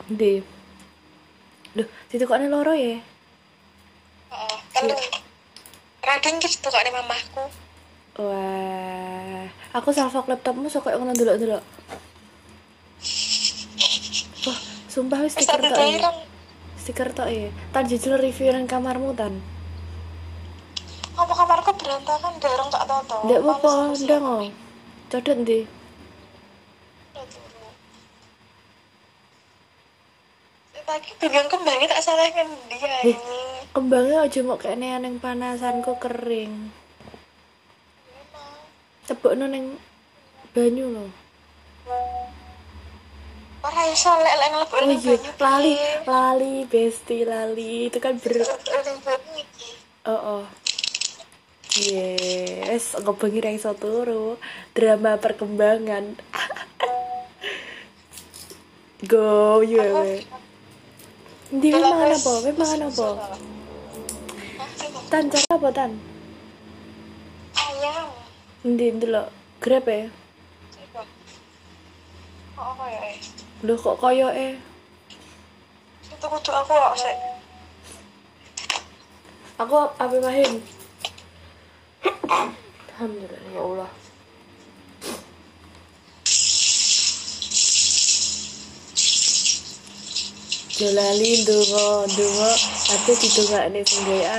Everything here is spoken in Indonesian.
Ndi? Loh, ditukokne loro ya? Heeh, telu. Rading gitu kok nih mamahku. Wah, aku salvok laptopmu sok koyo ngono delok-delok. Wah, sumpah wis Wis stiker tak tok ya. daerah. Stiker tok ya. Tan jujur review nang kamarmu tan. Apa kamarku berantakan dorong tak toto. Ndak Males apa-apa, aku sih ndang apa. oh. Codot ndi? Udah turu. Lagi bingung kembangnya tak salahkan dia Eh, ini. kembangnya aja mau kene ning panasanku kering. Memang. Cepukno ning banyu lho. Ora iso lek ngelebur Oh ning iya, banyu lali, piye. lali, besti, lali. Itu kan Ning banyu iki. Oh, oh. Yes, ngebengi ra iso turu. Drama perkembangan. Go, you Aku we. Ndi wis dalam mangan wis apa? Wis mangan musim apa? salah. Hah, coba. Tan, cara apa tan? Ayam. Ndi ndelok Grab ya? Coba. Oh, apa ya? Loh kok koyoke? Itu kudu aku kok sik. Aku apa mahin? Alhamdulillah ya Allah. Jolali ndonga, ndonga ate didongakne sing gawe